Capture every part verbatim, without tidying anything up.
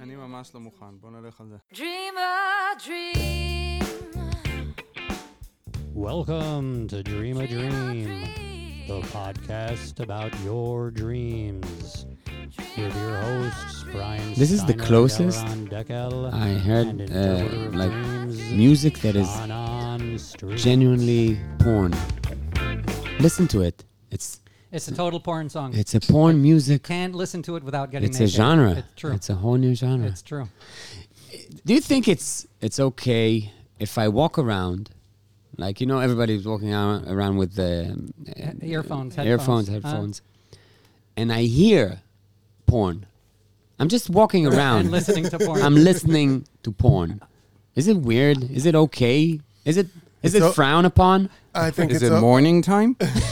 אני ממש לא מוכן, בוא נלך על זה. Dream a dream. Welcome to Dream a Dream, the podcast about your dreams. With your hosts, Brian This is the Steiner, closest Yaron Dekel, I heard and uh, interpreter of like dreams, music that is Shanan Street. genuinely porn. Listen to it. It's It's a total porn song. it's a porn music. Can't listen to it without getting It's a naked. genre. It's true. It's a whole new genre. It's true. Do you think it's it's okay if I walk around, like you know everybody's walking around, around with the uh, Earphones, earphones, headphones, headphones, and I hear porn. I'm just walking around. And listening to porn. I'm listening to porn. Is it weird? Is it okay? Is it is it o- frowned upon? I think Is it's it o- morning time?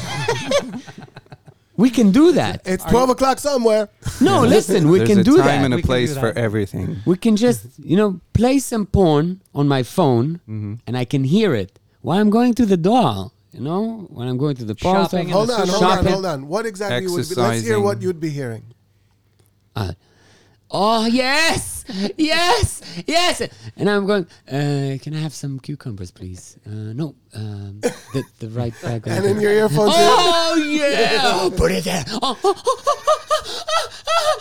We can do that. It's twelve o'clock somewhere. No, listen, we There's can a do time that. and We a can place do for that. everything. We can just, you know, play some porn on my phone, Mm-hmm. and I can hear it while I'm going to the door. You know, when I'm going to the post Shopping office. in Hold the on, hold Shopping. on, hold on. What exactly would be? Let's hear Exercising. what you'd be hearing. Uh, oh, yes, yes, yes. And I'm going, uh, can I have some cucumbers, please? Uh, no, um, the, the right bag. And in your earphones. Oh, yeah. Put it there. Oh, oh, oh, oh,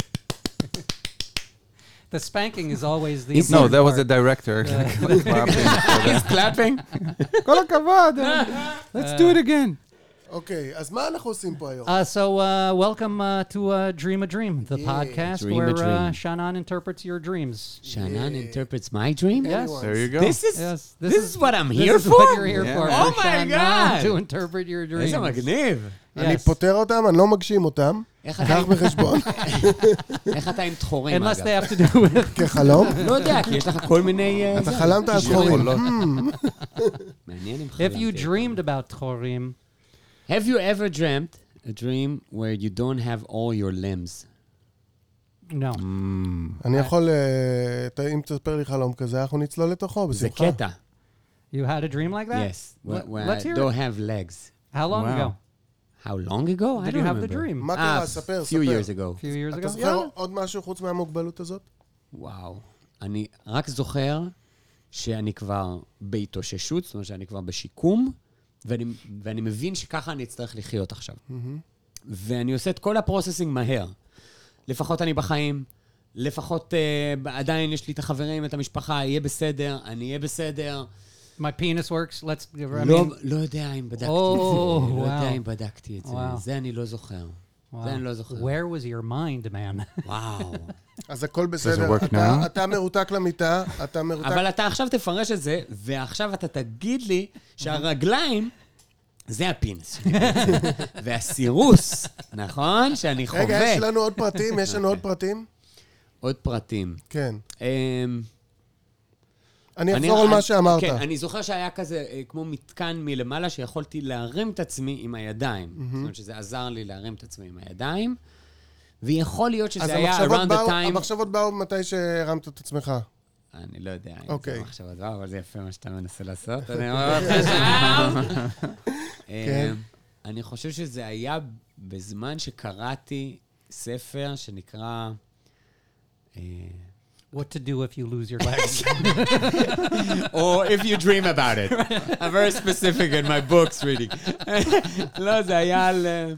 The spanking is always the Is- No, important that was part. Uh, the director. Clapping for oh. He's clapping. כל הכבוד. Let's do it again. אוקיי, אז מה אנחנו עושים פה היום? Uh, so, uh, welcome uh, to uh, Dream a Dream, the Yeah. podcast Dream a where Uh, Dream. Shannon interprets your dreams. Shannon interprets my dream? Yes. There you go. This is Yes. this, is, what I'm this here is for? what you're here Yeah. for. Oh for my Shannon God. to interpret your dreams. איזה מגניב. אני Yes. פותר אותם, אני לא מגשים אותם. איך קח אתה- בחשבון. איך אתה עם תחורים, Unless אגב? they have to do with... כחלום. לא יודע, כי יש לך כל מיני... אה, אתה זה, חלמת על כישורים. חורים. לא. מעניין אם If חלמתי. you dreamed about תחורים, Have you ever dreamt a dream where you don't have all your limbs? no. אני יכול, אה, ת- אם תספר לי חלום כזה, אנחנו נצלול לתוכו, זה בשמחה. קטע. You had a dream like that? Yes. Where, Let- where let's I hear don't it. have legs. How long Wow. ago? How long ago? I Did don't you have the remember. dream? מה Ah, קרה? ספר, few ספר. years ago. A few years אתה ago? זוכר עוד משהו חוץ מהמוגבלות הזאת? וואו. אני רק זוכר שאני כבר בהתאוששות, זאת אומרת שאני כבר בשיקום, ואני, ואני מבין שככה אני אצטרך לחיות עכשיו. ואני עושה את כל הפרוססינג מהר. לפחות אני בחיים, לפחות uh, עדיין יש לי את החברים, את המשפחה, יהיה בסדר, אני אהיה בסדר. My penis works. Let's... I לא, mean, לא יודע אם בדקתי Oh, את זה. לא wow. יודע אם בדקתי את זה. Wow. זה אני לא זוכר. wow. זה אני לא זוכר. Where was your mind, man? וואו. אז הכל בסדר. work אתה- now? אתה מרותק למיטה, אתה מרותק... אבל אתה עכשיו תפרש את זה, ועכשיו אתה תגיד לי שהרגליים זה הפינס שלי. והסירוס, נכון? שאני חווה. רגע, יש לנו עוד פרטים? יש לנו עוד פרטים? עוד פרטים. כן. אמ, אני אחזור על מה שאמרת. כן, אני זוכר שהיה כזה אה, כמו מתקן מלמעלה, שיכולתי להרים את עצמי עם הידיים. זאת אומרת שזה עזר לי להרים את עצמי עם הידיים, ויכול להיות אז שזה היה המחשבות around the באו- time... המחשבות באו מתי שהרמת את עצמך. אני לא יודע אם אוקיי. זה מחשבות דבר, אבל זה יפה מה שאתה מנסה לעשות. אני אומר לך שם. כן. אה, אני חושב שזה היה בזמן שקראתי ספר שנקרא... אה, What to do if you lose your legs. or if you dream about it. I'm very specific in my books reading. לא, זה היה על אה,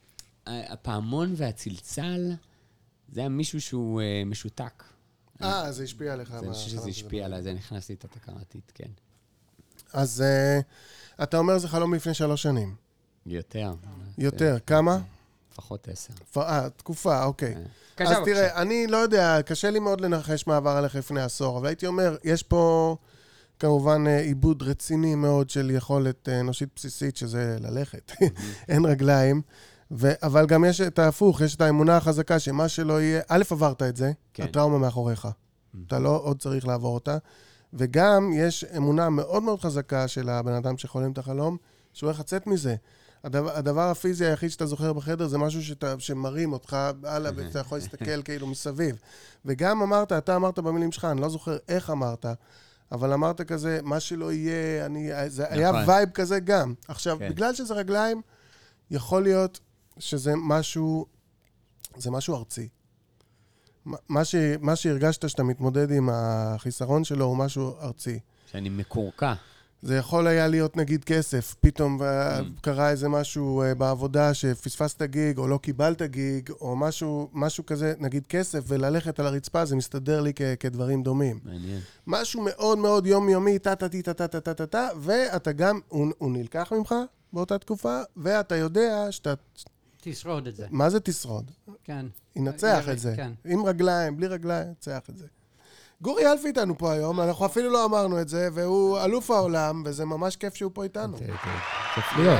הפעמון והצלצל. זה היה מישהו שהוא אה, משותק. אה, זה השפיע עליך. אני מה- חושב שזה השפיע עליי, זה נכנס לי את התקרתית, כן. אז אה, אתה אומר זה חלום לפני שלוש שנים. יותר. יותר. כמה? לפחות עשר. פ- אה, תקופה, אוקיי. קשה, אז בבקשה. תראה, אני לא יודע, קשה לי מאוד לנחש מה עבר עליך לפני עשור, אבל הייתי אומר, יש פה כמובן אה, עיבוד רציני מאוד של יכולת אה, אנושית בסיסית, שזה ללכת. אין רגליים. ו- אבל גם יש את ההפוך, יש את האמונה החזקה שמה שלא יהיה, א', עברת את זה, כן. הטראומה מאחוריך. אתה לא עוד צריך לעבור אותה. וגם יש אמונה מאוד מאוד חזקה של הבן אדם שחולם את החלום, שהוא הולך לצאת מזה. הדבר, הדבר הפיזי היחיד שאתה זוכר בחדר זה משהו שאתה, שמרים אותך הלאה, ואתה יכול להסתכל כאילו מסביב. וגם אמרת, אתה אמרת במילים שלך, אני לא זוכר איך אמרת, אבל אמרת כזה, מה שלא יהיה, אני, זה נכון. היה וייב כזה גם. עכשיו, כן. בגלל שזה רגליים, יכול להיות שזה משהו, זה משהו ארצי. מה, ש, מה שהרגשת שאתה מתמודד עם החיסרון שלו הוא משהו ארצי. שאני מקורקע. זה יכול היה להיות נגיד כסף, פתאום קרה איזה משהו בעבודה שפספסת גיג או לא קיבלת גיג או משהו, משהו כזה, נגיד כסף וללכת על הרצפה, זה מסתדר לי כ- כדברים דומים. מעניין. משהו מאוד מאוד יומיומי, טה-טה-טי, טה-טה-טה-טה-טה, ואתה גם, הוא, הוא נלקח ממך באותה תקופה, ואתה יודע שאתה... תשרוד את זה. מה זה תשרוד? כן. ינצח את זה. כן. עם רגליים, בלי רגליים, ינצח את זה. גורי אלפי איתנו פה היום, אנחנו אפילו לא אמרנו את זה, והוא אלוף העולם, וזה ממש כיף שהוא פה איתנו. כיף להיות.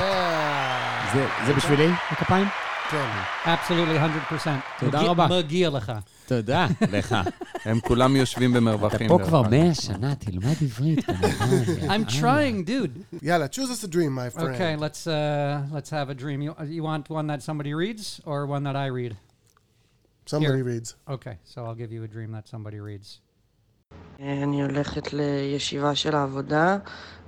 זה בשבילי, הכפיים? כן. Absolutely one hundred percent. תודה רבה. מגיע לך. תודה לך. הם כולם יושבים במרווחים. אתה פה כבר מאה שנה, תלמד עברית. I'm trying, dude. יאללה, choose us a dream, my friend. Okay, let's uh, let's have a dream. You, you want one that somebody reads or one that I read? Somebody Here. reads. Okay, so I'll give you a dream that somebody reads. אני הולכת לישיבה של העבודה,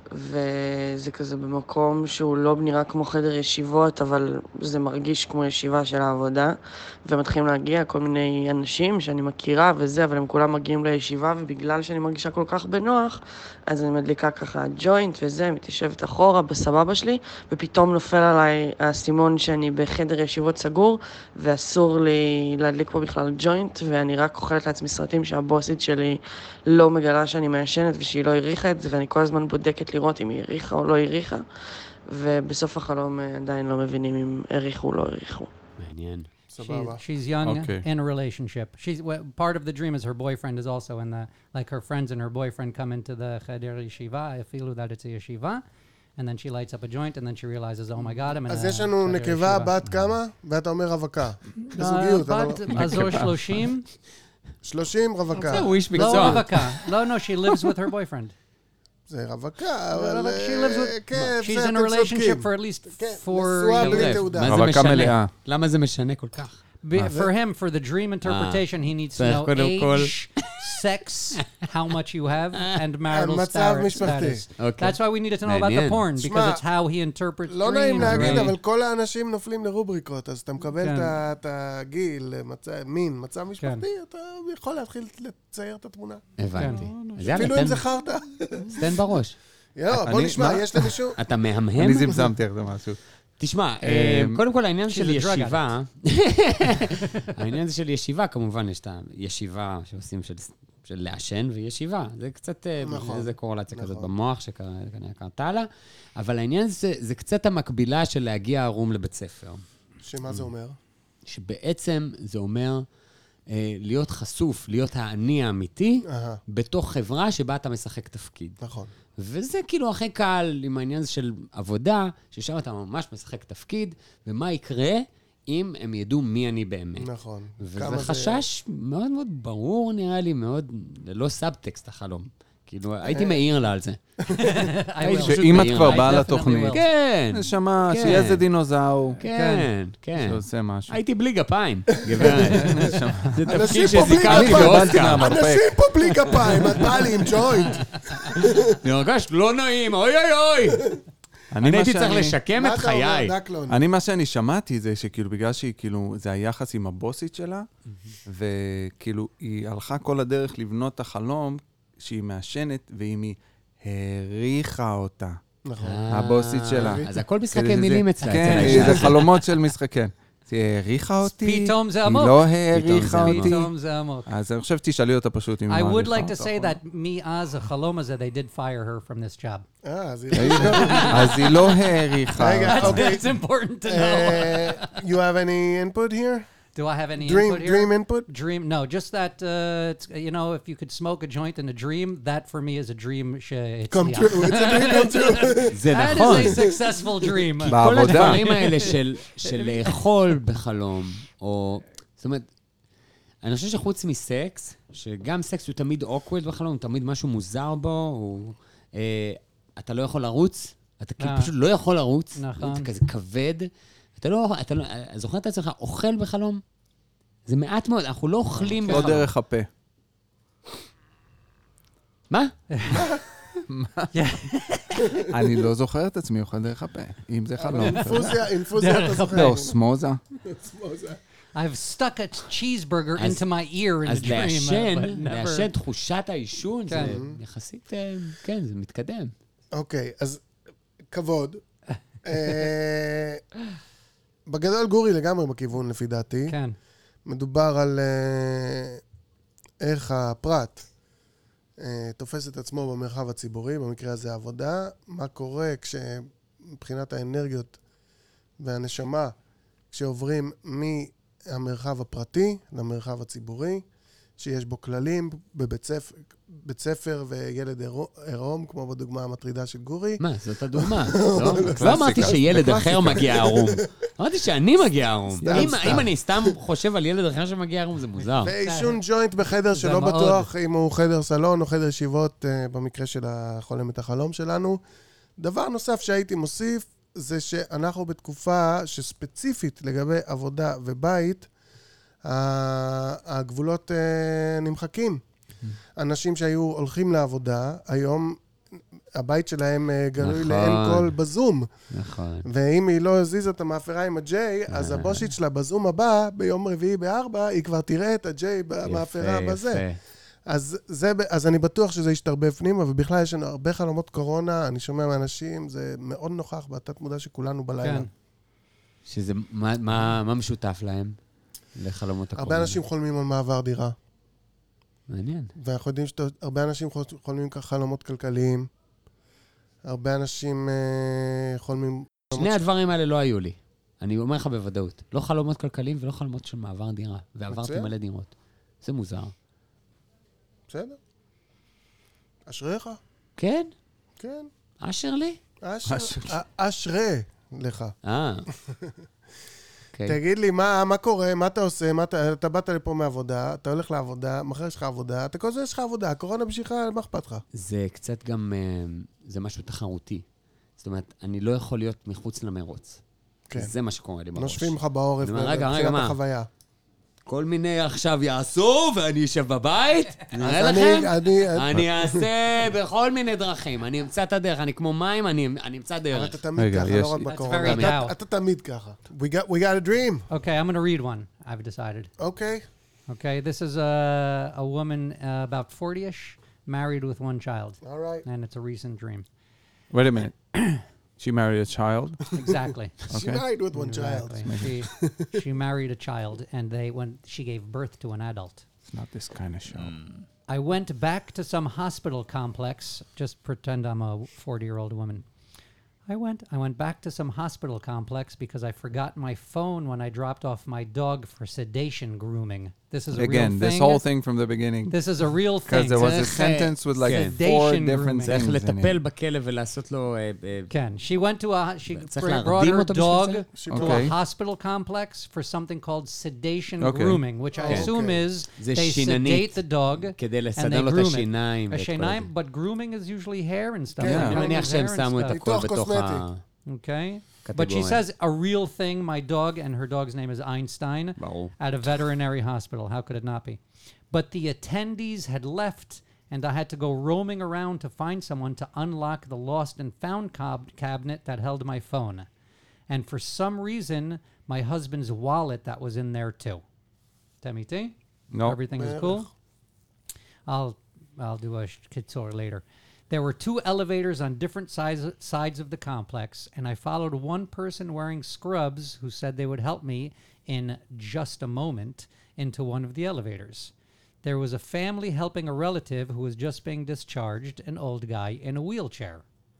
וזה כזה במקום שהוא לא נראה כמו חדר ישיבות, אבל זה מרגיש כמו ישיבה של העבודה, ומתחילים להגיע כל מיני אנשים שאני מכירה וזה, אבל הם כולם מגיעים לישיבה, ובגלל שאני מרגישה כל כך בנוח, אז אני מדליקה ככה ג'וינט וזה, מתיישבת אחורה בסבבה שלי, ופתאום נופל עליי הסימון שאני בחדר ישיבות סגור, ואסור לי להדליק פה בכלל ג'וינט, ואני רק אוכלת לעצמי סרטים שהבוסית שלי לא מגלה שאני מעשנת ושהיא לא הריחה את זה, ואני כל הזמן בודקת לראות אם היא הריחה או לא הריחה, ובסוף החלום עדיין לא מבינים אם הריחו או לא הריחו. מעניין. She, סבבה. she's young Okay. in a relationship. She's well, part of the dream is her boyfriend is also in the like her friends and her boyfriend come into the cheder yeshiva. I feel that it's a yeshiva, and then she lights up a joint, and then she realizes, oh my God, I'm in a אז יש לנו cheder נקבה yeshiva. בת כמה? ואתה אומר רווקה. Uh, בזוגיות, אבל... בת azor שלושים. שלושים רווקה. הוא איש לא מקצוע. רווקה. לא, no, she lives with her boyfriend. זה רווקה, אבל... She lives with... כן, She's זה in אתם a relationship צודקים. for at least כן, four נשואה years. בלי תעודה. מה זה רווקה משנה? מלאה. למה זה משנה כל כך? Be, for him, for the dream interpretation, he needs to צריך know קודם כל- age, sex, how much you have, and marital מצב star- משפחתי. status. אוקיי. That's why we needed to know about the מעניין. porn, because שמע, it's how he interprets לא נעים dreams, להגיד, right? אבל כל האנשים נופלים לרובריקות, אז אתה מקבל כן. את ה- את הגיל, מצב- מין, מצב משפחתי, אתה יכול להתחיל לצייר את התמונה. הבנתי. אז יאללה, אפילו אם תן- זה חרטא. תן בראש. יאללה, בוא אני- נשמע, מה? יש למישהו? אתה מהמהם? אני זמזמתי איך זה משהו. תשמע, אה, אמ, קודם כל העניין של She's a drug ישיבה, העניין הזה של ישיבה, כמובן יש את הישיבה שעושים של של לעשן וישיבה. זה קצת, אה, נכון. איזה קורלציה כזאת נכון. במוח שכנראה קרתה לה, אבל העניין זה, זה קצת המקבילה של להגיע ערום לבית ספר. שמה זה אומר? שבעצם זה אומר אה, להיות חשוף, להיות האני האמיתי, אהה, בתוך חברה שבה אתה משחק תפקיד. נכון. וזה כאילו הכי קל עם העניין הזה של עבודה, ששם אתה ממש משחק תפקיד, ומה יקרה אם הם ידעו מי אני באמת. נכון. וזה כמה זה- חשש מאוד מאוד ברור, נראה לי, מאוד, ללא סאבטקסט החלום. כאילו, הייתי מעיר לה על זה. I הייתי will. פשוט שאם את מעיר כבר לה. באה I definitely לתוכנית, will. כן, נשמה, כן. שיהיה איזה דינוזאור כן, כן. שעושה משהו. הייתי בלי גפיים, גברת. זה אנשים תפקיד פה בלי שזיכרתי גפיים. באוסקר. מהמרפק. אנשים פה בלי כפיים, את באה לי עם ג'וינט. אני הרגש לא נעים, אוי אוי אוי. אני מה הייתי צריך שאני- לשקם מה את אתה חיי. אומר, דקלון? אני, מה שאני שמעתי זה שכאילו, בגלל שהיא כאילו, זה היחס עם הבוסית שלה, וכאילו, היא הלכה כל הדרך לבנות את החלום שהיא מעשנת, ואם היא העריכה אותה. נכון. הבוסית שלה. אז הכל כדי משחקי שזה- מילים אצלה, כן, אצל האישה. זה חלומות של משחק, כן. היא העריכה אותי, פתאום זה היא עמוק. לא פתאום העריכה זה עמוק. אותי. פתאום זה עמוק. אז אני חושב שתשאלי אותה פשוט אם I היא would מעריכה like to אותך say או לא. that מאז החלום הזה, they did fire her from this job. אה, אז היא... אז היא לא העריכה. רגע, That's, אוקיי. that's important to know. אה, you have any input here? Do I have any Dream, input here? dream input? Dream, no, just that, uh, it's, you know, if you could smoke a joint in a dream, that for me is a dream שהצליח. Come true, it's a dream come true. זה That נכון. is a successful dream. כל בעבודה. הדברים האלה של, של לאכול בחלום, או... זאת אומרת, אני חושב שחוץ מסקס, שגם סקס הוא תמיד awkward בחלום, תמיד משהו מוזר בו, הוא... אה, אתה לא יכול לרוץ, אתה כאילו אה. פשוט לא יכול לרוץ, נכון. אתה כזה כבד, אתה לא... אתה לא זוכר את עצמך, אוכל בחלום? זה מעט מאוד, אנחנו לא אוכלים לא בחלום. דרך הפה. מה? אני לא זוכר את עצמי אוכל דרך הפה. אם זה חלום. אינפוזיה, אינפוזיה, אתה זוכר. לא, סמוזה. I've stuck a cheeseburger אז- into my ear in אז a dream. לעשן, but never- לעשן תחושת העישון, זה כן. יחסית, אה, כן, זה מתקדם. אוקיי, אז כבוד. אה, בגדול גורי לגמרי בכיוון, לפי דעתי. כן. מדובר על אה, איך הפרט אה, תופס את עצמו במרחב הציבורי, במקרה הזה עבודה, מה קורה כשמבחינת האנרגיות והנשמה, כשעוברים מהמרחב הפרטי למרחב הציבורי, שיש בו כללים בבית ספר, בית ספר וילד עירום, כמו בדוגמה המטרידה של גורי. מה, זאת הדוגמה. לא לא אמרתי שילד אחר מגיע ערום. אמרתי שאני מגיע ערום. סתם, אם- סתם. אם אני סתם חושב על ילד אחר שמגיע ערום, זה מוזר. ועישון ג'וינט בחדר זה שלא מאוד. בטוח אם הוא חדר סלון או חדר ישיבות, אה, במקרה של החולם את החלום שלנו. דבר נוסף שהייתי מוסיף, זה שאנחנו בתקופה שספציפית לגבי עבודה ובית, ה- הגבולות אה, נמחקים. אנשים שהיו הולכים לעבודה, היום הבית שלהם אה, גלוי נכון. לעין כל בזום. נכון. ואם היא לא הזיזה את המאפרה עם הג'יי, אה. אז הבושית שלה בזום הבא, ביום רביעי בארבע, היא כבר תראה את הג'יי במאפרה יפה, בזה. יפה. אז, זה, ב- אז אני בטוח שזה ישתרבב פנימה, ובכלל יש לנו הרבה חלומות קורונה, אני שומע מאנשים, זה מאוד נוכח בתת מודע שכולנו בלילה. כן. שזה, מה- מה מה משותף להם לחלומות הקורונה? הרבה אנשים חולמים על מעבר דירה, מעניין. ואנחנו יודעים שהרבה אנשים חול- חולמים ככה חלומות כלכליים, הרבה אנשים אה, חולמים... שני הדברים האלה לא היו לי. אני אומר לך בוודאות. לא חלומות כלכליים ולא חלומות של מעבר דירה. ועברתי מצוין. מלא דירות. זה מוזר. בסדר? אשריך, כן? כן. אשר לי? אשר, אשר. א- אשרה לך. אה. אוקיי. תגיד לי, מה, מה קורה, מה אתה עושה, מה אתה, אתה באת לפה מעבודה, אתה הולך לעבודה, מחר יש לך עבודה, אתה כל הזמן יש לך עבודה, הקורונה בשבילך, מה אכפת לך? זה קצת גם, אה, זה משהו תחרותי. זאת אומרת, אני לא יכול להיות מחוץ למרוץ. כן. זה מה שקורה לי בראש. נושבים לך בעורף, אני אומר, רגע, רגע, מבחינת מה? החוויה. כל מיני עכשיו יעשו, ואני אשב בבית, נראה אז לכם? אני, אני, אני אעשה בכל מיני דרכים. אני אמצא את הדרך. אני כמו מים, אני אני אמצא אבל דרך. אתה תמיד רגע, ככה, יש- לא רק That's בקורונה. very אתה- now. אתה תמיד ככה. We got, we got a dream, Okay, I'm going to read one, I've decided. אוקיי? Okay, this is a, a woman uh, about forty-ish, married with one child. All right. And it's a recent dream. Wait a minute. She married a child? Exactly. She Okay. married with one child. Exactly. She, she married a child, and they when she gave birth to an adult. It's not this kind of show. I went back to some hospital complex. Just pretend I'm a forty-year-old woman. I went. I went back to some hospital complex because I forgot my phone when I dropped off my dog for sedation grooming. This is a Again, real this thing. whing from the beginning. This is a real Because thing. there was a צריך, אה, sentence with like כן. four Sedation different grooming. צריך things in לטפל it. בכלב ולעשות לו... אה, אה, Ken, she went to a she צריך br- להרדים brought her אותו בשביל dog זה? She to Okay. a hospital complex for something called sedation Okay. grooming, which I Okay. assume is זה they שיננית. sedate the dog כדי and לסדר they לו את groom it. השיניים. A ואת כל שיניים, זה. but grooming is usually hair and stuff. Yeah. They're אני doing מניח his שהם hair and שמו את stuff. הכל ניתוח בתוך ה... קוסמטי. Okay. But קטגוריה. she says a real thing, my dog, and her dog's name is Einstein, ברור. at a veterinary hospital. How could it not be? But the attendees had left, and I had to go roaming around to find someone to unlock the lost and found cab- cabinet that held my phone. And for some reason, my husband's wallet that was in there too. Temiti? No. Everything is בערך. cool? I'll I'll do a sh- kitzur later. There were two elevators on different sides sides of the complex, and I followed one person wearing scrubs who said they would help me in just a moment into one of the elevators. There was a family helping a relative who was just being discharged, an old guy in a wheelchair.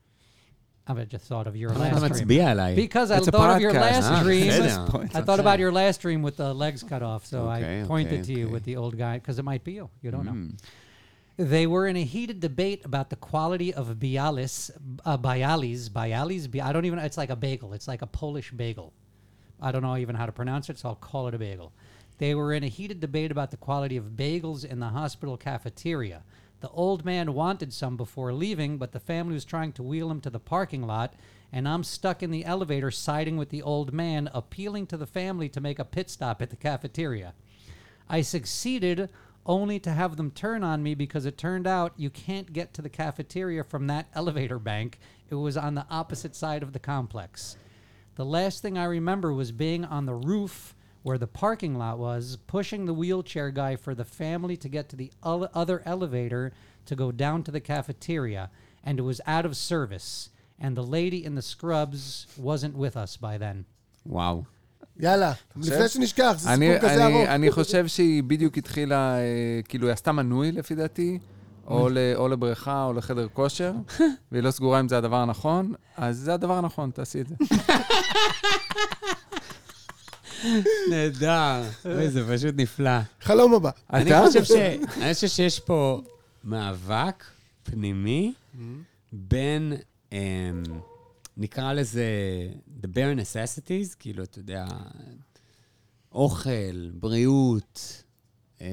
I just thought of your אתה last dream. מצביע עליי. Because I It's a thought of your podcast. last Ah, dream. בסדר. I thought about your last dream with the legs cut off, so Okay, I pointed okay, to you okay. with the old guy, because it might be you. You don't know. Mm. They were in a heated debate about the quality of Bialis, uh, Bialis, Bialis, Bi- I don't even, it's like a bagel. It's like a Polish bagel. I don't know even how to pronounce it, so I'll call it a bagel. They were in a heated debate about the quality of bagels in the hospital cafeteria. The old man wanted some before leaving, but the family was trying to wheel him to the parking lot, and I'm stuck in the elevator siding with the old man, appealing to the family to make a pit stop at the cafeteria. I succeeded only to have them turn on me because it turned out you can't get to the cafeteria from that elevator bank. It was on the opposite side of the complex. The last thing I remember was being on the roof where the parking lot was, pushing the wheelchair guy for the family to get to the ele- other elevator to go down to the cafeteria, and it was out of service. And the lady in the scrubs wasn't with us by then. וואו. יאללה, לפני שנשכח, זה אני- סיפור כזה אני- ארוך. אני חושב שהיא בדיוק התחילה, אה, כאילו, היא עשתה מנוי לפי דעתי, או ל- או לבריכה או לחדר כושר, והיא לא סגורה אם זה הדבר הנכון, אז זה הדבר הנכון, תעשי את זה. נהדר. אוי, זה פשוט נפלא. חלום הבא. אני אתה? חושב ש... אני חושב שיש פה מאבק פנימי בין, אמ, נקרא לזה the bare necessities, כאילו, אתה יודע, אוכל, בריאות, אמ,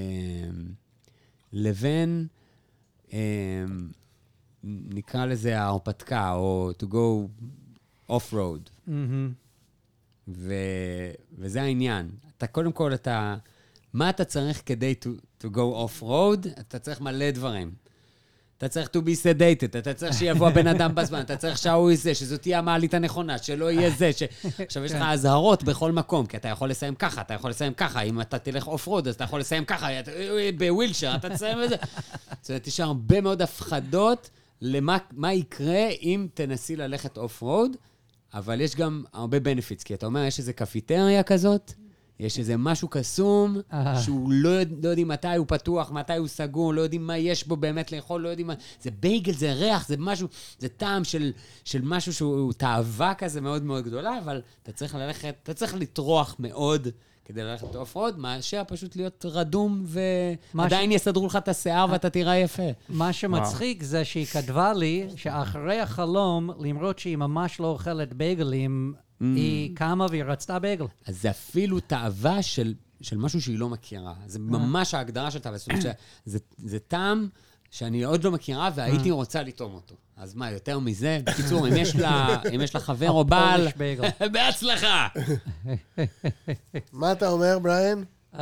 לבין, אמ, נקרא לזה ההרפתקה, או to go off-road. Mm-hmm. ו... וזה העניין. אתה, קודם כל, אתה... מה אתה צריך כדי to, to go off-road? אתה צריך מלא דברים. אתה צריך to be sedated, אתה צריך שיבוא הבן אדם בזמן, אתה צריך שההוא יזה, שזאת תהיה המעלית הנכונה, שלא יהיה זה, ש... עכשיו יש לך אזהרות בכל מקום, כי אתה יכול לסיים ככה, אתה יכול לסיים ככה, אם אתה תלך אוף-רוד, אז אתה יכול לסיים ככה, אתה... בווילצ'ר, אתה תסיים את זה. זאת אומרת, יש הרבה מאוד הפחדות למה מה יקרה אם תנסי ללכת אוף-רוד, אבל יש גם הרבה בנפיטס, כי אתה אומר, יש איזו קפיטריה כזאת, יש איזה משהו קסום, שהוא לא, יודע, לא יודעים מתי הוא פתוח, מתי הוא סגור, לא יודעים מה יש בו באמת לאכול, לא יודעים מה... זה בייגל, זה ריח, זה משהו, זה טעם של, של משהו שהוא תאווה כזה מאוד מאוד גדולה, אבל אתה צריך ללכת, אתה צריך לטרוח מאוד כדי ללכת אוף-רוד, מאשר פשוט להיות רדום, ועדיין יסדרו לך את השיער ואתה תראה יפה. מה שמצחיק זה שהיא כתבה לי שאחרי החלום, למרות שהיא ממש לא אוכלת בייגלים, היא קמה והיא רצתה בייגל. אז זה אפילו תאווה של, של משהו שהיא לא מכירה. זה ממש ההגדרה של תאווה. זאת אומרת שזה זה טעם שאני עוד לא מכירה, והייתי רוצה לטעום אותו. אז מה, יותר מזה? בקיצור, אם יש לה, אם יש לה חבר או בעל, בהצלחה! מה אתה אומר, בריין? Um,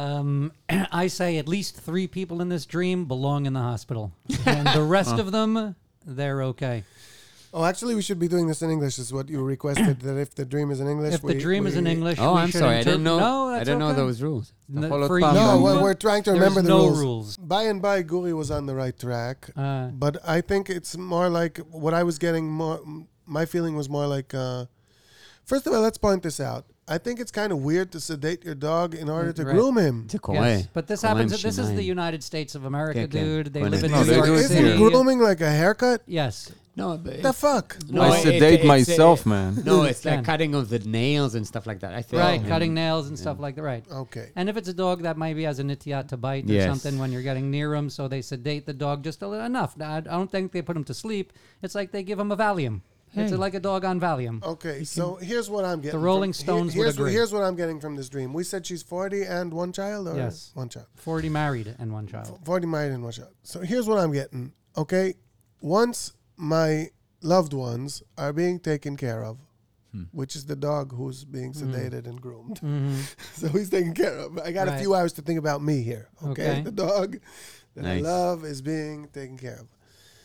I say at least three people in this dream belong in the hospital. And the rest of them, they're okay. Oh, actually, we should be doing this in English, is what you requested, that if the dream is in English... If the we- dream we- is in English, Oh, we I'm should sorry. I interpret- didn't know. No, I that's didn't know okay. those rules. N- follow for up. you, No, Um, we're, we're trying to remember the no rules. rules. By and by, Guri was on the right track, Uh, but I think it's more like what I was getting more. My feeling was more like. Uh, first of all, let's point this out. I think it's kind of weird to sedate your dog in order to Right. groom him. זה קורה. yes, but this קורה עם happens. This is the שיניים. United States of America, כן, כן. dude. They בוא live in נ- No, New they York do it City. Isn't grooming like a haircut? Yes. No, but The fuck? No, I it- sedate it's, uh, myself, man. No, it's like Yeah. cutting of the nails and stuff like that. I think. Right, cutting nails and stuff like that. Right. Okay. And if it's a dog that maybe has a nitiyat to bite or Yes. something when you're getting near him, so they sedate the dog just a little enough. Now, I I don't think they put him to sleep. It's like they give him a Valium. It's Hey. like a dog on Valium. Okay, so here's what I'm getting. The Rolling from, Stones would here's, agree. Here's what I'm getting from this dream. We said she's forty and one child, or Yes. one child. forty married and one child. forty married and one child. So here's what I'm getting. Okay, once my loved ones are being taken care of, which is the dog who's being sedated and groomed. So he's taken care of. I got a Right. few hours to think about me here. Okay, Okay. the dog that I Nice. love is being taken care of.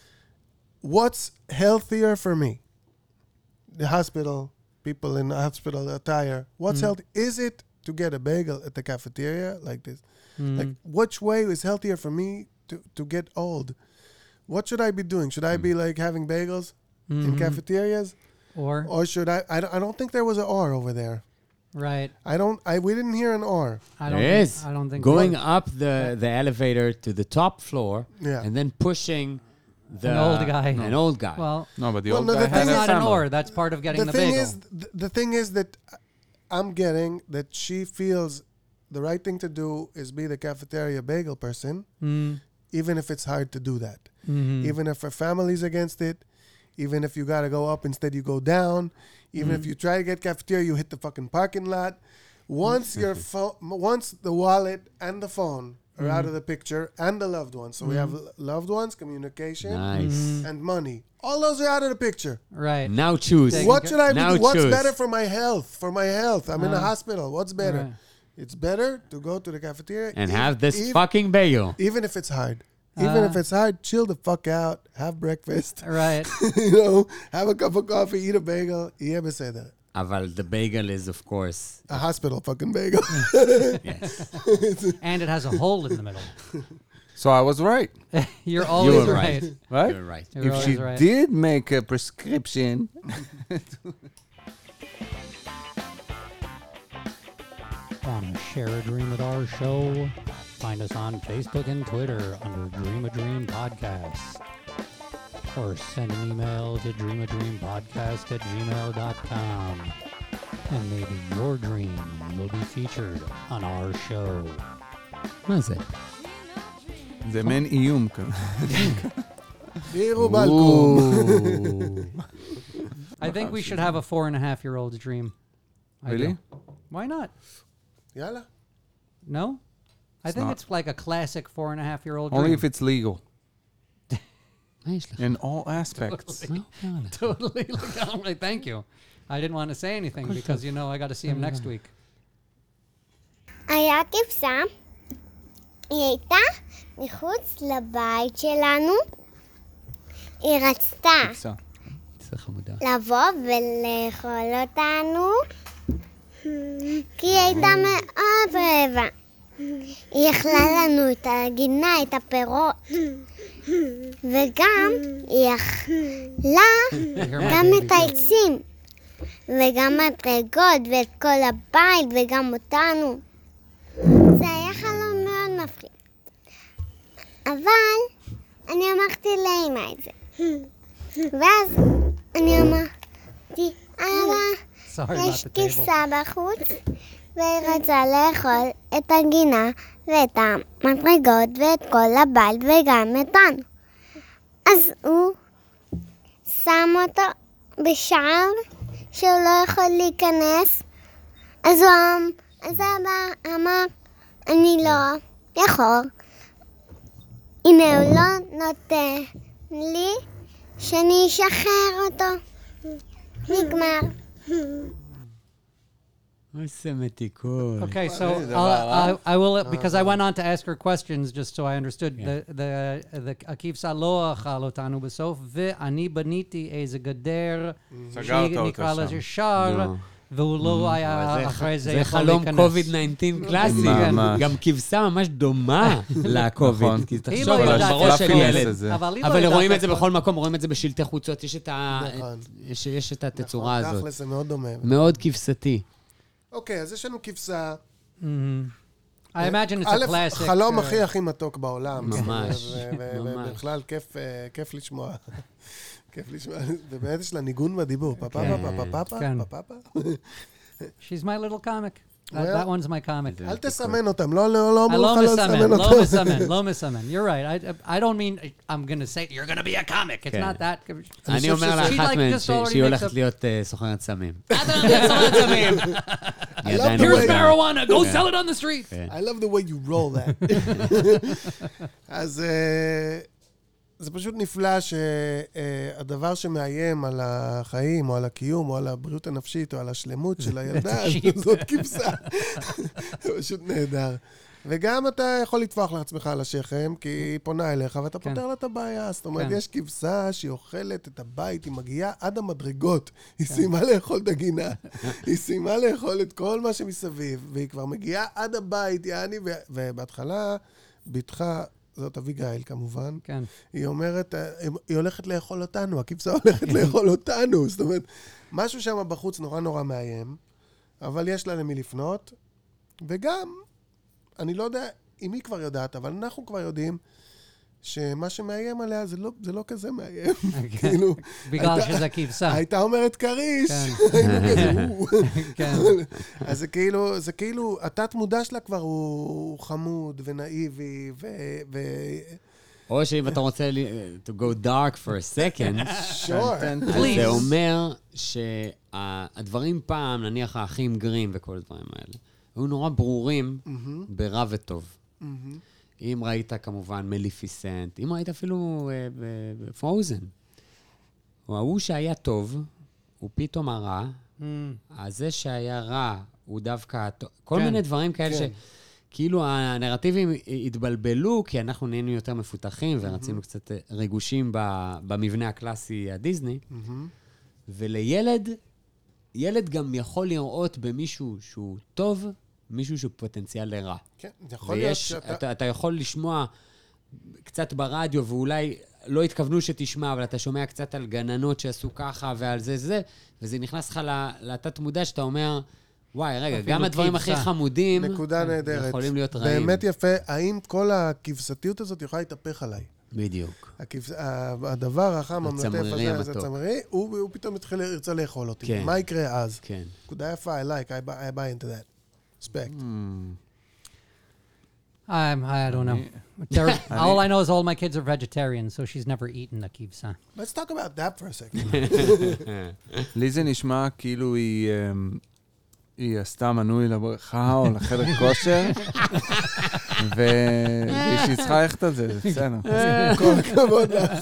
What's healthier for me? The hospital, people in the hospital attire. What's healthy? Is it to get a bagel at the cafeteria like this? Like, which way is healthier for me to, to get old? What should I be doing? Should I be like having bagels in cafeterias? Or, Or should I, I? don't- I don't think there was an or over there. right. I don't, I, we didn't hear an or. I don't There think, is. I don't think Going up the, the elevator to the top floor Yeah. and then pushing the... An old guy. An old guy. Well, No, but the Well, old no, guy the has thing that's a not an family. or. That's part of getting The the, thing bagel. is, the, the thing is that I'm getting that she feels the right thing to do is be the cafeteria bagel person, Mm, even if it's hard to do that. mhm. Even if her family's against it, even if you got to go up instead you go down, even if you try to get cafeteria, you hit the fucking parking lot. Once your phone, once the wallet and the phone are out of the picture, and the loved ones, so we have l- loved ones, communication, Nice. and money. All those are out of the picture. Right. Now choose. Take- What should I be Now doing? What's choose. better for my health? For my health, I'm in a Uh, hospital. What's better? right. It's better to go to the cafeteria And ev- have this ev- fucking bagel. even if it's hard. Even Uh, if it's hard, chill the fuck out, have breakfast. Right. You know, have a cup of coffee, eat a bagel, יהיה בסדר. אבל the bagel is of course. A hospital fucking bagel. Yes. And it has a hole in the middle. So I was right, You're always were right. right. right? You're right. You're If always she right. did make a prescription, Want to share a dream with our show? Find us on Facebook and Twitter under Dream a Dream Podcast. Or send an email to dreamadreampodcast at gmail dot com. And maybe your dream will be featured on our show. מה זה? זה מעין איום כזה. תראו בלקום. I think we should have a four and a half year old's dream. I Really? do. Why not? יאללה. No? I It's think not. it's like a classic four and a half year old Only dream. if it's legal, מה יש לך? in all aspects. מה אומר לך? Totally legally. Thank you. I didn't want to say anything because, you know, I got to see him next week. היה כבשה, היא הייתה מחוץ לבית שלנו. היא רצתה כבשה. זה חמודה. לבוא ולאכול אותנו, כי היא הייתה מאוד רעבה. היא אכלה לנו את הגינה, את הפירות, וגם היא אכלה גם את העצים, וגם מדרגות, ואת כל הבית, וגם אותנו. זה היה חלום מאוד מפחיד. אבל אני אמרתי לאמא את זה. ואז אני אמרתי, אבא, Sorry יש about the table. כבשה בחוץ, והיא רצה לאכול את הגינה ואת המדרגות ואת כל הבית וגם אותנו. אז הוא שם אותו בשער שהוא לא יכול להיכנס. אז הוא אמ- אז אבא אמר, אני לא יכול. הנה הוא לא נותן לי שאני אשחרר אותו. נגמר. איזה מתיקות. Okay, so I'll, I, I will, because I went on to ask her questions just so I understood. The, the, the הכבשה לא אכל אותנו בסוף, ואני בניתי איזה גדר, סגרת אותה שנקרא שם. לזה שער, לא. והוא לא אבל היה זה אחרי ח- זה זה יכול חלום להיכנס. קוביד תשע עשרה קלאסי. ממש. גם כבשה ממש דומה לקוביד. נכון. כי היא תחשוב, לא אבל יודעת בראש של להפלאפינס ילד. הזה. אבל היא לא אבל יודעת רואים את זה איפה- בכל מקום, רואים את זה בשלטי חוצות, יש את ה- נכון. יש- יש את התצורה הזאת. תכל'ס זה מאוד דומה. מאוד כבשתי. אוקיי, אז יש לנו כבשה. I imagine it's א', a classic. חלום uh, הכי הכי מתוק בעולם. ממש, ו- ו- ממש. ובכלל כיף, אה, כיף לשמוע. כיף לשמוע. ובאמת יש לה ניגון בדיבור. פאפה, פאפה, פאפה, כן. פאפה. She's my little comic. That, Well, that one's my comic. אל תסמן אותם, לא לא- לא I אמרו לא לך לא מסמן, לסמן לא אותם. מסמן, לא מסמן. You're right. I, I don't mean I'm going to say you're going to be a comic. It's כן. not that. אני אומר She, לאחת like, מהן just ש- already שהיא makes הולכת up- להיות אה, סוחרת סמים. סוחרת סמים. היא עדיין the לא way- Here's יודעת. marijuana. Go sell it on the street. כן. I love the way you roll that. אז אה, זה פשוט נפלא שהדבר שמאיים על החיים, או על הקיום, או על הבריאות הנפשית, או על השלמות של הילדה, זאת כבשה. זה פשוט נהדר. וגם אתה יכול לטפוח לעצמך על השכם, כי היא פונה אליך, ואתה כן. פותר לה את הבעיה. זאת אומרת, כן. יש כבשה שהיא אוכלת את הבית, היא מגיעה עד המדרגות, היא סיימה לאכול את הגינה, היא סיימה לאכול את כל מה שמסביב, והיא כבר מגיעה עד הבית, יעני, ו- ובהתחלה, בתך, זאת אביגיל כמובן, כן. היא אומרת, אה, היא הולכת לאכול אותנו, הכבשה הולכת לאכול אותנו. זאת אומרת, משהו שם בחוץ נורא נורא מאיים, אבל יש לה למי לפנות, וגם, אני לא יודע אם היא כבר יודעת, אבל אנחנו כבר יודעים שמה שמאיים עליה זה לא, זה לא כזה מאיים. כאילו, בגלל הייתה- שזה כבשה. הייתה אומרת כריש, כן. היינו כזה, "או". כן. אז זה כאילו, זה כאילו, התת מודע שלה כבר הוא חמוד ונאיבי, ו... ו- או שאם אתה רוצה לי- to go dark for a second, sure. אז Please. זה אומר שהדברים פעם, נניח האחים גרים וכל הדברים האלה, היו נורא ברורים ברע וטוב. אם ראית כמובן מליפיסנט, אם ראית אפילו פרוזן, הוא ההוא שהיה טוב, הוא פתאום הרע, אז זה שהיה רע הוא דווקא הטוב. כל כן. מיני דברים כאלה כן. שכאילו הנרטיבים התבלבלו, כי אנחנו נהיינו יותר מפותחים ורצינו קצת ריגושים ב- במבנה הקלאסי הדיסני, ולילד ילד גם יכול לראות במישהו שהוא טוב, מישהו שהוא פוטנציאל לרע. כן, יכול להיות ויש, שאתה... אתה, אתה יכול לשמוע קצת ברדיו, ואולי לא התכוונו שתשמע, אבל אתה שומע קצת על גננות שעשו ככה ועל זה זה, וזה נכנס לך לתת מודע שאתה אומר, וואי, רגע, גם הדברים הכי חמודים נקודה נהדרת. יכולים להיות רעים. באמת יפה. האם כל הכבשתיות הזאת יכולה להתהפך עליי? בדיוק. הכבש... הדבר החם, המלטף הצמרירי הזה, זה המתוק. הצמרירי, הוא, הוא פתאום יתחיל לרצה לאכול אותי. כן. מה יקרה אז? כן. נקודה יפה, I like, I buy, I buy into that. Respect. I'm, I don't know. There, all I know is all my kids are vegetarians, so she's never eaten a kibsa. Let's talk about that for a second. לי זה נשמע כאילו היא, אמ, היא עשתה מנוי לבריכה או לחדר כושר, והיא צריכה ללכת על זה, זה בסדר. כל הכבוד לך.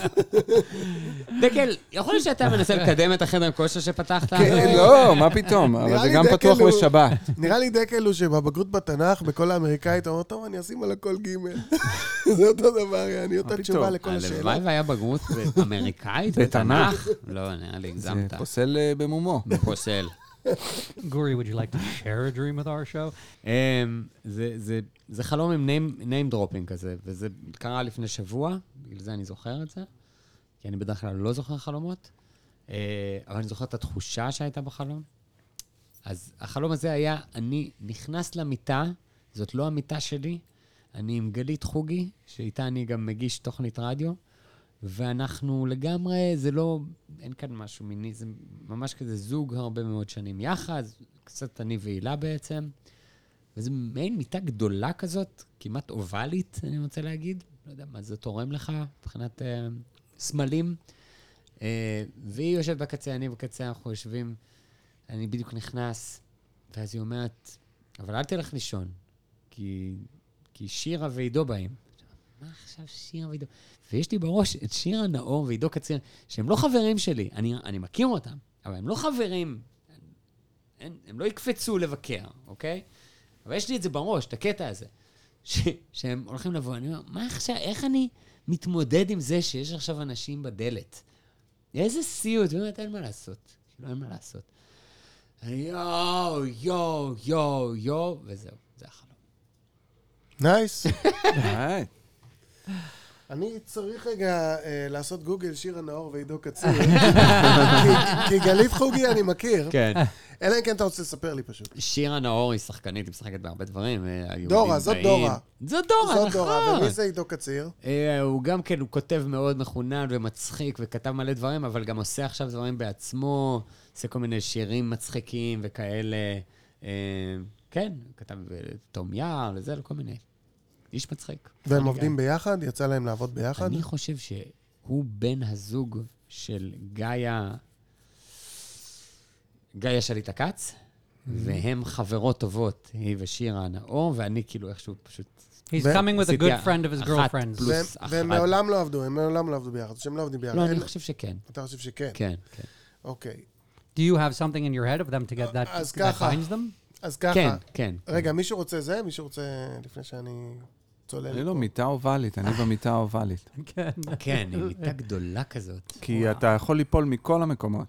דקל, יכול להיות שאתה מנסה לקדם את החדר כושר שפתחת? כן, לא, מה פתאום, אבל נראה זה לי גם דקל פתוח הוא- בשבת. נראה לי דקל הוא שבבגרות בתנ"ך, בכל האמריקאית, הוא אומר, טוב, אני אשים על הכל גימל. זה אותו דבר, אני אותה פתאום? תשובה לכל הלוואי השאלות. והיה בגרות אמריקאית בתנ"ך? לא, נראה לי, זה הגזמת. פוסל אה, במומו. פוסל. Guri, would you like to share a dream with our show? אמ, זה- זה- זה חלום עם name- name dropping כזה, וזה קרה לפני שבוע, בגלל זה אני זוכר את זה, כי אני בדרך כלל לא זוכר חלומות, אה, אבל אני זוכר את התחושה שהייתה בחלום. אז החלום הזה היה, אני נכנס למיטה, זאת לא המיטה שלי, אני עם גלית חוגי, שאיתה אני גם מגיש תוכנית רדיו, ואנחנו לגמרי, זה לא, אין כאן משהו מיני, זה ממש כזה זוג הרבה מאוד שנים יחד, קצת אני והילה בעצם, וזה מעין מיטה גדולה כזאת, כמעט אובלית, אני רוצה להגיד, לא יודע מה זה תורם לך, מבחינת אה, סמלים, אה, והיא יושבת בקצה, אני בקצה, אנחנו יושבים, אני בדיוק נכנס, ואז היא אומרת, אבל אל תלך לישון, כי, כי שירה ועידו באים. מה עכשיו שירה ועידו? ויש לי בראש את שירה נאור ועידו קציר, שהם לא חברים שלי, אני, אני מכיר אותם, אבל הם לא חברים, הם, הם לא יקפצו לבקר, אוקיי? אבל יש לי את זה בראש, את הקטע הזה, ש, שהם הולכים לבוא, אני אומר, מה עכשיו, איך אני מתמודד עם זה שיש עכשיו אנשים בדלת? איזה סיוט, באמת אין מה לעשות, כאילו אין מה לעשות. אני יואו, יואו, יואו, יואו, וזהו, זה החלום. נייס. היי. אני צריך רגע אה, לעשות גוגל שירה נאור ועידו קציר, כי- כי גלית חוגי אני מכיר, כן. אלא אם כן אתה רוצה לספר לי פשוט. שירה נאור היא שחקנית, היא משחקת בהרבה דברים. אה, היהודים דורה, זאת באים. דורה. זאת דורה, זאת נכון. דורה, ומי זה עידו קציר? אה, הוא גם כן, הוא כותב מאוד מחונן ומצחיק, וכתב מלא דברים, אבל גם עושה עכשיו דברים בעצמו, עושה כל מיני שירים מצחיקים וכאלה. אה, כן, כתב אה, תום יער וזה, כל מיני. איש מצחיק. והם עובדים ביחד? יצא להם לעבוד ביחד? אני חושב שהוא בן הזוג של גאיה, גאיה שליט הקץ, והם חברות טובות, היא ושירה נאור, ואני כאילו איכשהו פשוט... He's ו- coming with a עשיתי good friend of his אחת girlfriends. פלוס והם- אחת. והם מעולם לא עבדו, הם מעולם לא עבדו ביחד, שהם לא עובדים ביחד. לא, אין- אני חושב שכן. אתה חושב שכן? כן, כן. אוקיי. Do you have something in your head of them to get that, אז that ככה. binds them? אז ככה, כן, כן. רגע, מישהו רוצה זה? מישהו רוצה, לפני שאני צולל? אני לא מיטה אובלית, אני במיטה אובלית. כן. כן, היא מיטה גדולה כזאת. כי אתה יכול ליפול מכל המקומות.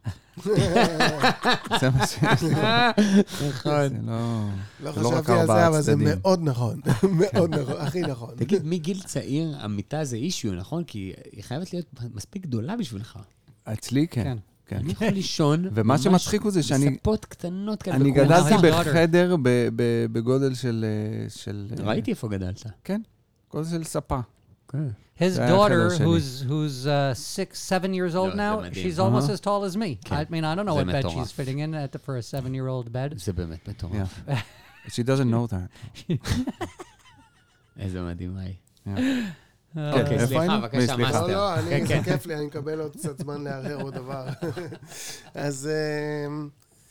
זה מה שיש לי. נכון. זה לא... לא זה לא רק חשבתי על ארבעה זה, אבל זה צדדים. מאוד נכון. מאוד נכון, הכי נכון. תגיד, מגיל צעיר, המיטה זה אישיו, נכון? כי היא חייבת להיות מספיק גדולה בשבילך. אצלי כן. כן. כן. אני יכול לישון... ומה ממש שמצחיק הוא זה שאני- בספות קטנות כאלה. אני בכורסה. גדלתי Now his daughter. בחדר ב- ב- בגודל של... אה, של, אה, ראיתי איפה גדלת. כן, גודל של ספה. His זה היה daughter, החדר שלי. who's who's uh, six, seven years old לא, now, זה מדהים. she's almost Uh-huh. as tall as me. כן. I mean, I don't know זה what bed מטורף. she's fitting in at the, for a seven-year-old bed. זה באמת מטורף. Yeah. She doesn't know that. איזה מדהים, היי. Yeah. אוקיי, איפה סליחה, היינו? בבקשה, סליחה. מאסטר. לא, לא, אני- כן, זה כן. כיף לי, אני מקבל עוד קצת זמן להרהר עוד דבר. אז... אמ,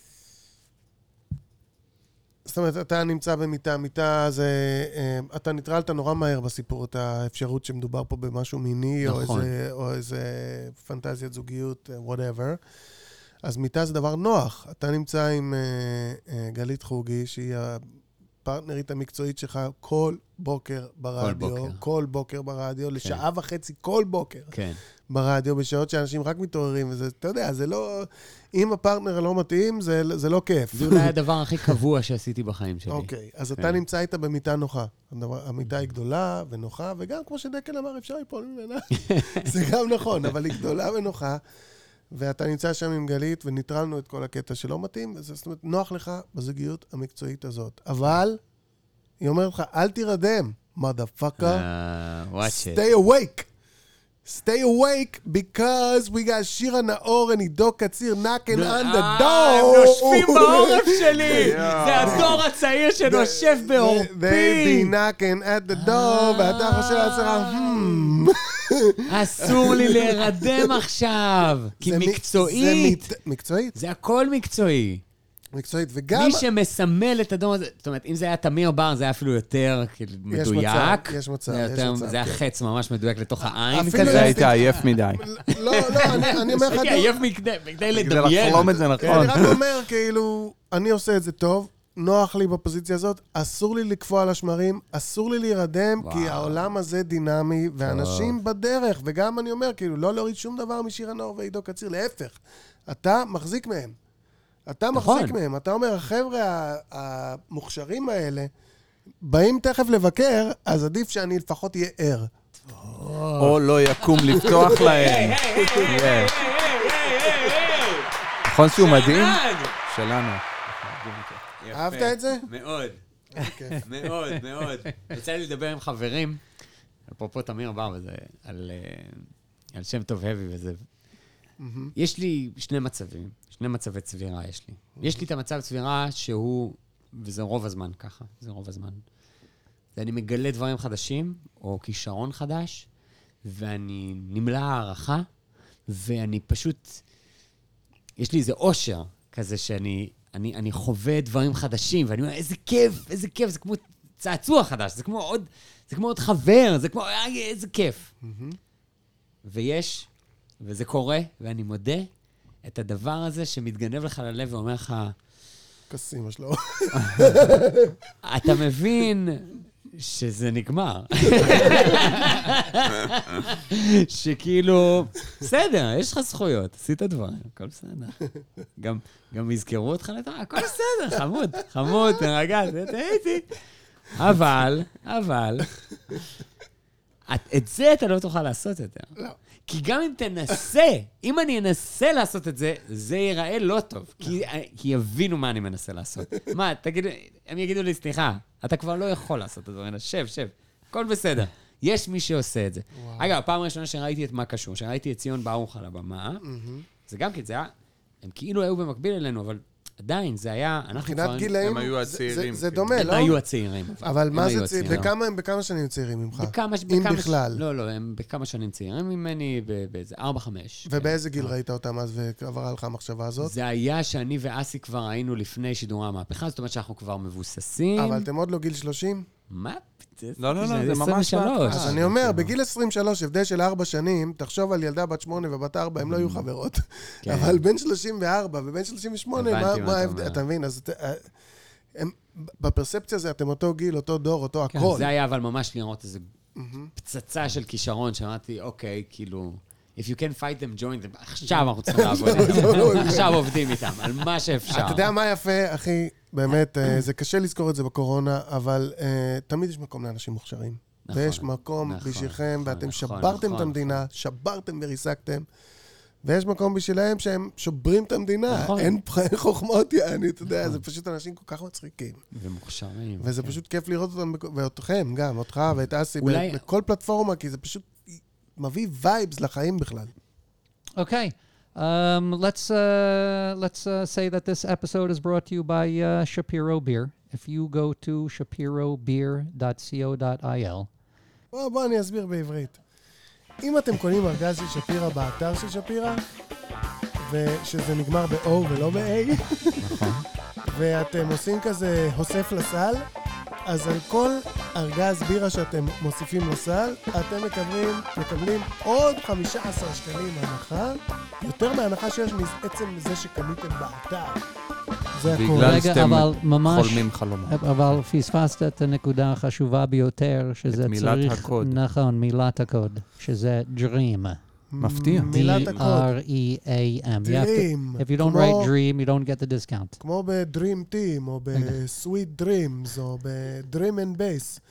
זאת אומרת, אתה נמצא במיטה, מיטה זה... אמ, אתה נטרלת נורא מהר בסיפור, את האפשרות שמדובר פה במשהו מיני, או נכון. איזה- או איזה פנטזיית זוגיות, whatever. אז מיטה זה דבר נוח. אתה נמצא עם אה, אה, גלית חוגי, שהיא הפרטנרית המקצועית שלך כל בוקר ברדיו, בוקר. כל בוקר ברדיו, לשעה וחצי כל בוקר כן. ברדיו, בשעות שאנשים רק מתעוררים, וזה, אתה יודע, זה לא... אם הפרטנר לא מתאים, זה, זה לא כיף. זה אולי הדבר הכי קבוע שעשיתי בחיים שלי. אוקיי, אז אתה נמצא איתה במיטה נוחה. הדבר- המיטה היא גדולה ונוחה, וגם כמו שדקל אמר, אפשר ליפול ממנה. זה גם נכון, אבל היא גדולה ונוחה, ואתה נמצא שם עם גלית, וניטרלנו את כל הקטע שלא מתאים, וזה, זאת אומרת, נוח לך בזוגיות המקצועית הזאת. אבל, היא אומרת לך, אל תירדם, motherfucker, אה, watch it. stay awake. Stay awake, because we got שירה נאור and עידו קציר knocking on the door. אה, הם נושפים בעורף שלי! זה הדור הצעיר שנושב They be בעורפי! knocking at the door, ואתה חושב לעצמך, hmm. אסור לי להירדם עכשיו! כי זה מ- מקצועית! זה מת- מקצועית, זה הכל מקצועי. מקצועית, וגם... מי שמסמל את הדור הזה, זאת אומרת, אם זה היה תמיר בר, זה היה אפילו יותר כאילו, יש מדויק. מצב, יש מצב, זה יש יותר- מצב, זה היה כן. חץ ממש מדויק לתוך העין אפילו כזה. זה היית עייף מדי. לא, לא, אני אני אומר לך... הייתי עייף מכדי מכדי כדי לדמיין. לחלום את זה נכון. אני רק אומר, כאילו, אני עושה את זה טוב, נוח לי בפוזיציה הזאת, אסור לי לקפוא על השמרים, אסור לי להירדם, וואו. כי העולם הזה דינמי, ואנשים בדרך, וגם אני אומר, כאילו, לא להוריד שום דבר משירה נאור ועידו קציר, להפך, אתה מחזיק מהם. אתה נכון. מחזיק מהם. אתה אומר, החבר'ה ה- המוכשרים האלה, באים תכף לבקר, אז עדיף שאני לפחות אהיה ער. או לא יקום לפתוח להם. Yeah. נכון שהוא מדהים? שלנו. אהבת את זה? מאוד. מאוד, מאוד. יצא לי לדבר עם חברים, אפרופו תמיר בר וזה, על, אה, על שם טוב הבי וזה. יש לי שני מצבים, שני מצבי צבירה יש לי. יש לי את המצב צבירה שהוא, וזה רוב הזמן ככה, זה רוב הזמן. ואני מגלה דברים חדשים, או כישרון חדש, ואני נמלא הערכה, ואני פשוט, יש לי איזה אושר כזה שאני אני, אני חווה דברים חדשים, ואני אומר, איזה כיף, איזה כיף, זה כמו צעצוע חדש, זה כמו עוד, זה כמו עוד חבר, זה כמו, איזה כיף. ויש, וזה קורה, ואני מודה, את הדבר הזה שמתגנב לך ללב ואומר לך, כסימה שלו. אתה מבין שזה נגמר. שכאילו, בסדר, יש לך זכויות, עשית דברים, הכל בסדר. גם, גם יזכרו אותך לדבר, הכל בסדר, חמוד, חמוד, תרגע, הייתי. אבל, אבל, את, את זה אתה לא תוכל לעשות יותר. לא. כי גם אם תנסה, אם אני אנסה לעשות את זה, זה ייראה לא טוב. כי, כי יבינו מה אני מנסה לעשות. מה, תגידו, הם יגידו לי, סליחה, אתה כבר לא יכול לעשות את הדברים, שב, שב, הכל בסדר. יש מי שעושה את זה. אגב, הפעם הראשונה שראיתי את מה קשור, שראיתי את ציון ברוך על הבמה, זה גם כי זה היה, הם כאילו היו במקביל אלינו, אבל עדיין, זה היה, אנחנו מבחינת גילאים, הם היו זה- הצעירים, זה- זה כאילו. דומה, הם לא? היו הצעירים. אבל מה הם זה היו צעיר? הצעירים. בכמה הם בכמה שנים צעירים ממך? בכמה, אם בכמה, בכלל. לא, לא, הם בכמה שנים צעירים ממני, ב- באיזה ארבע, חמש. ובאיזה גיל ראית אותם אז ועברה לך המחשבה הזאת? זה היה שאני ואסי כבר היינו לפני שידורי המהפכה, זאת אומרת שאנחנו כבר מבוססים. אבל אתם עוד לא גיל שלושים? מה? לא, לא, לא, זה ממש עשרים ושלוש. אז אני אומר, בגיל עשרים ושלוש, הבדל של ארבע שנים, תחשוב על ילדה בת שמונה ובת ארבע, הם לא יהיו חברות. כן. אבל בין שלושים וארבע ובין שלושים ושמונה, הבנתי מה- מה מה אתה ההבדל? אומר. אתה מבין? אז את- אה, הם- בפרספציה הזה אתם אותו גיל, אותו דור, אותו הכל. זה היה אבל ממש לראות איזו פצצה של כישרון, שאמרתי, אוקיי, כאילו, if you can fight them, join them, עכשיו אנחנו צריכים לעבוד. עכשיו עובדים איתם, על מה שאפשר. אתה יודע מה יפה, אחי? באמת, אה, זה קשה לזכור את זה בקורונה, אבל אה, תמיד יש מקום לאנשים מוכשרים. נכון, ויש מקום נכון, בשבילכם, נכון, ואתם נכון, שברתם את נכון, המדינה, שברתם וריסקתם, ויש מקום בשבילם שהם שוברים את המדינה. נכון. אין אין חוכמות, יעני, אתה יודע, זה פשוט אנשים כל כך מצחיקים. ומוכשרים. וזה פשוט כיף לראות אותם, בכ- ואותכם גם, אותך ואת אסי, אולי- ב- בכל פלטפורמה, כי זה פשוט מביא וייבס לחיים בכלל. Okay. Um, let's uh, let's uh, say that this episode is brought to you by uh, Shapiro Beer. If you go to shapiro beer dot co dot i l, בוא, בוא, אני אסביר בעברית. אם אתם קונים ארגז של שפירא באתר של שפירא, ושזה נגמר ב-O ולא ב-A, ואתם עושים כזה הוסף לסל, אז על כל ארגז בירה שאתם מוסיפים לסל, אתם מקבלים, מקבלים עוד חמישה עשר שקלים הנחה, יותר מההנחה שיש מעצם זה שקניתם באתר. זה הכל. בגלל רגע, שאתם אבל ממש- חולמים חלומות. אבל פספסת את הנקודה החשובה ביותר, שזה את מילת צריך... הקוד. נכון, מילת הקוד, שזה dream. מפתיע. מילת הקוד. D R E A M. You have to- Dream. If you don't כמו- write dream, you don't get the discount. כמו ב-Dream Team, או ב-Sweet Dreams, או ב-Dream and Bass.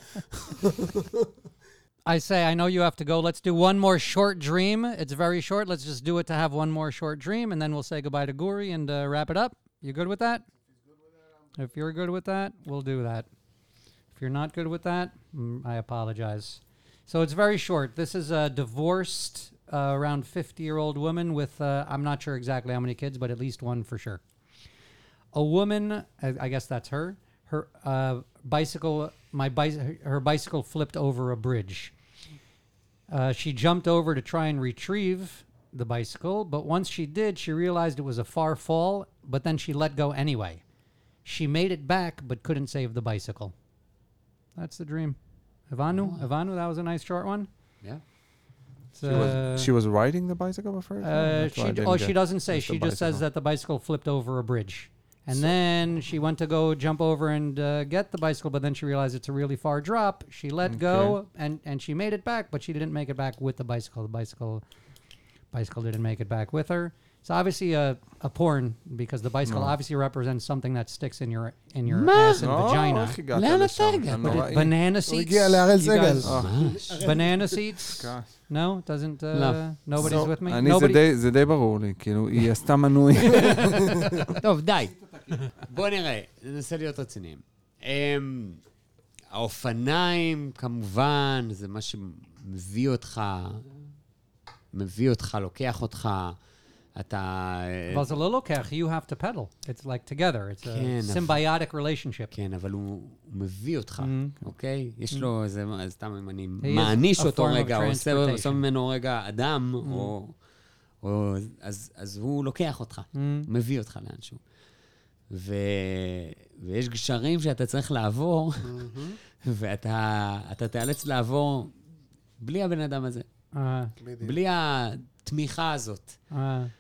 I say, I know you have to go. Let's do one more short dream. It's very short. Let's just do it to have one more short dream, and then we'll say goodbye to Guri and uh, wrap it up. You good with that? If you're good with that, we'll do that. If you're not good with that, mm, I apologize. So it's very short. This is a divorced, uh, around fifty-year-old woman with, uh, I'm not sure exactly how many kids, but at least one for sure. A woman, I, I guess that's her, her uh, bicycle, my bicy- her bicycle flipped over a bridge. Uh, she jumped over to try and retrieve the bicycle, but once she did, she realized it was a far fall, but then she let go anyway. She made it back, but couldn't save the bicycle. That's the dream. Ivanu, Ivanu, that was a nice short one. Yeah. It's, She was, uh, she was riding the bicycle at first? uh, That's why I she, didn't oh, get- she doesn't say. just the She just says bicycle. that the bicycle flipped over a bridge. And then she went to go jump over and uh, get the bicycle, but then she realized it's a really far drop. She let go, and, and she made it back, but she didn't make it back with the bicycle. The bicycle bicycle didn't make it back with her. It's obviously a, a porn, because the bicycle No. obviously represents something that sticks in your in your מה? ass and לא, vagina. איך הגעת לאן לשם? אתה הגעת? זה But נוראי. it, banana הוא seats. הגיע להראל You סגל. guys- ממש. Banana seats? כעס. No, doesn't. Uh, לא. Nobody's So, with me. אני, זה Nobody. די- זה די ברור לי, כאילו, היא עשתה מנוי. טוב, די. בוא נראה, ננסה להיות רציניים. אמ, האופניים, כמובן, זה מה שמביא אותך, מביא אותך, לוקח אותך, אתה... אבל זה לא לוקח, you have to pedal. It's like together. It's כן, a אבל- symbiotic relationship. כן, אבל הוא, הוא מביא אותך, Mm. אוקיי? יש לו איזה, אז סתם אם אני is מעניש a אותו form of רגע, או עושה, transportation. עושה ממנו רגע אדם, או, או, אז, אז הוא לוקח אותך, מביא אותך לאנשהו. ו, ויש גשרים שאתה צריך לעבור, ואתה אתה תיאלץ לעבור בלי הבן אדם הזה, Uh, בלי התמיכה הזאת. uh,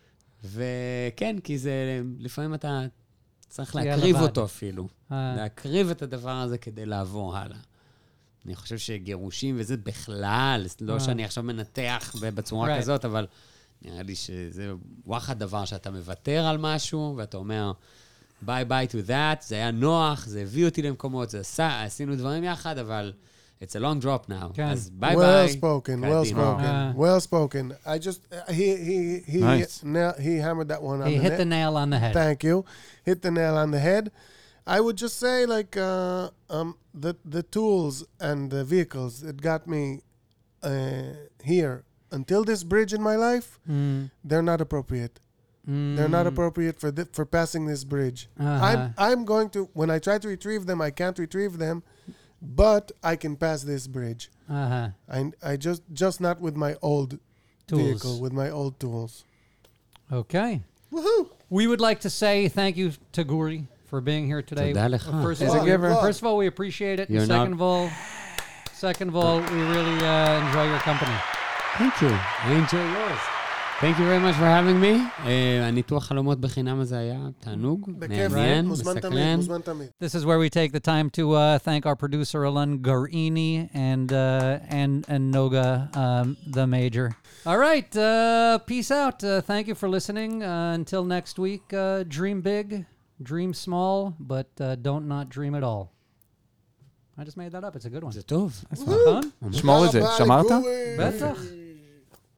וכן, כי זה, לפעמים אתה צריך תהיה להקריב לבד. אותו אפילו. uh, להקריב את הדבר הזה כדי לעבור הלאה. אני חושב שגירושים וזה בכלל, לא אה. שאני עכשיו מנתח ב- בצורה Right. כזאת, אבל נראה לי שזה וואחד דבר שאתה מוותר על משהו, ואתה אומר, ביי ביי to that, זה היה נוח, זה הביא אותי למקומות, זה עשה, עשינו דברים יחד, אבל it's a long drop now. כן. אז ביי Well ביי. spoken, well spoken, Ah. well spoken. I just, uh, he, he, he, Nice. na- he hammered that one on he the hit net. the nail on the head. Thank you. Hit the nail on the head. I would just say, like, uh, um, the the tools and the vehicles that got me uh, here until this bridge in my life, Mm, they're not appropriate. mm, They're not appropriate for thi- for passing this bridge. uh-huh. I'm I'm going to when I try to retrieve them, I can't retrieve them, but I can pass this bridge. Uh-huh. I I just just not with my old Tools. vehicle, with my old tools. Okay. Woohoo! We would like to say thank you to Guri for being here today. תודה לך. Uh, First, He's of a all, giver. first of all, we appreciate it. You're And second not- of all, second of all, we really uh, enjoy your company. Thank you. I enjoy yours. Thank you very much for having me. Uh, הניתוח חלומות בחינם הזה היה תענוג, בכיף, מעניין, מוזמן תמיד, מסקרן. מוזמן תמיד. This is where we take the time to uh, thank our producer Alan Garini and uh, and and Noga um, the Major. All right, uh, peace out. Uh, thank you for listening. Uh, until next week, uh, dream big, dream small, but uh, don't not dream at all. I just made that up. It's a good one. זה טוב. נכון? שמור את זה. תודה רבה שמרת? לגורי. בטח.